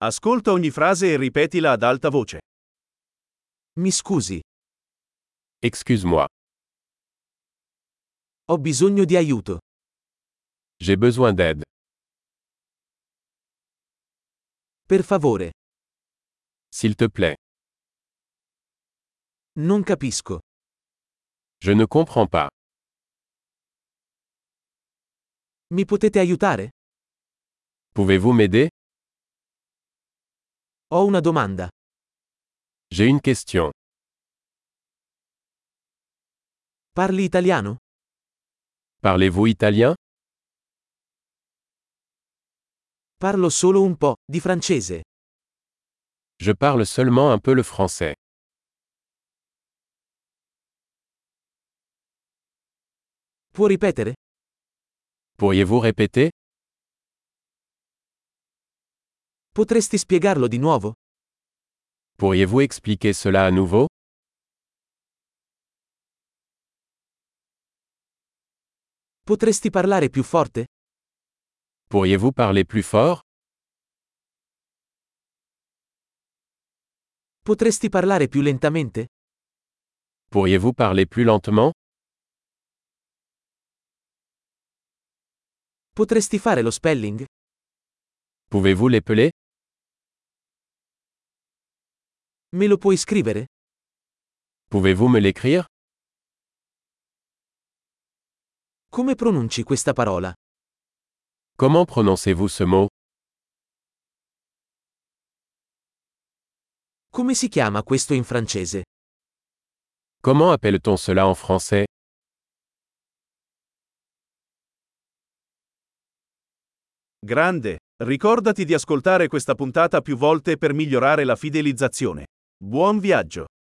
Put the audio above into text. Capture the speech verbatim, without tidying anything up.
Ascolta ogni frase e ripetila ad alta voce. Mi scusi, Excuse-moi. ho bisogno di aiuto. J'ai besoin d'aide. Per favore, S'il te plaît. non capisco. Je ne comprends pas. Mi potete aiutare? Pouvez-vous m'aider? Ho una domanda. J'ai une question. Parli italiano? Parlez-vous italien? Parlo solo un po' di francese. Je parle seulement un peu le français. Può ripetere? Pourriez-vous répéter? Potresti spiegarlo di nuovo? Pourriez-vous expliquer cela à nouveau? Potresti parlare più forte? Pourriez-vous parler plus fort? Potresti parlare più lentamente? Pourriez-vous parler plus lentement? Potresti fare lo spelling? Pouvez-vous l'épeler? Me lo puoi scrivere? Pouvez-vous me l'écrire? Come pronunci questa parola? Comment prononcez-vous ce mot? Come si chiama questo in francese? Comment appelle-t-on cela en français? Grande! Ricordati di ascoltare questa puntata più volte per migliorare la fidelizzazione. Buon viaggio!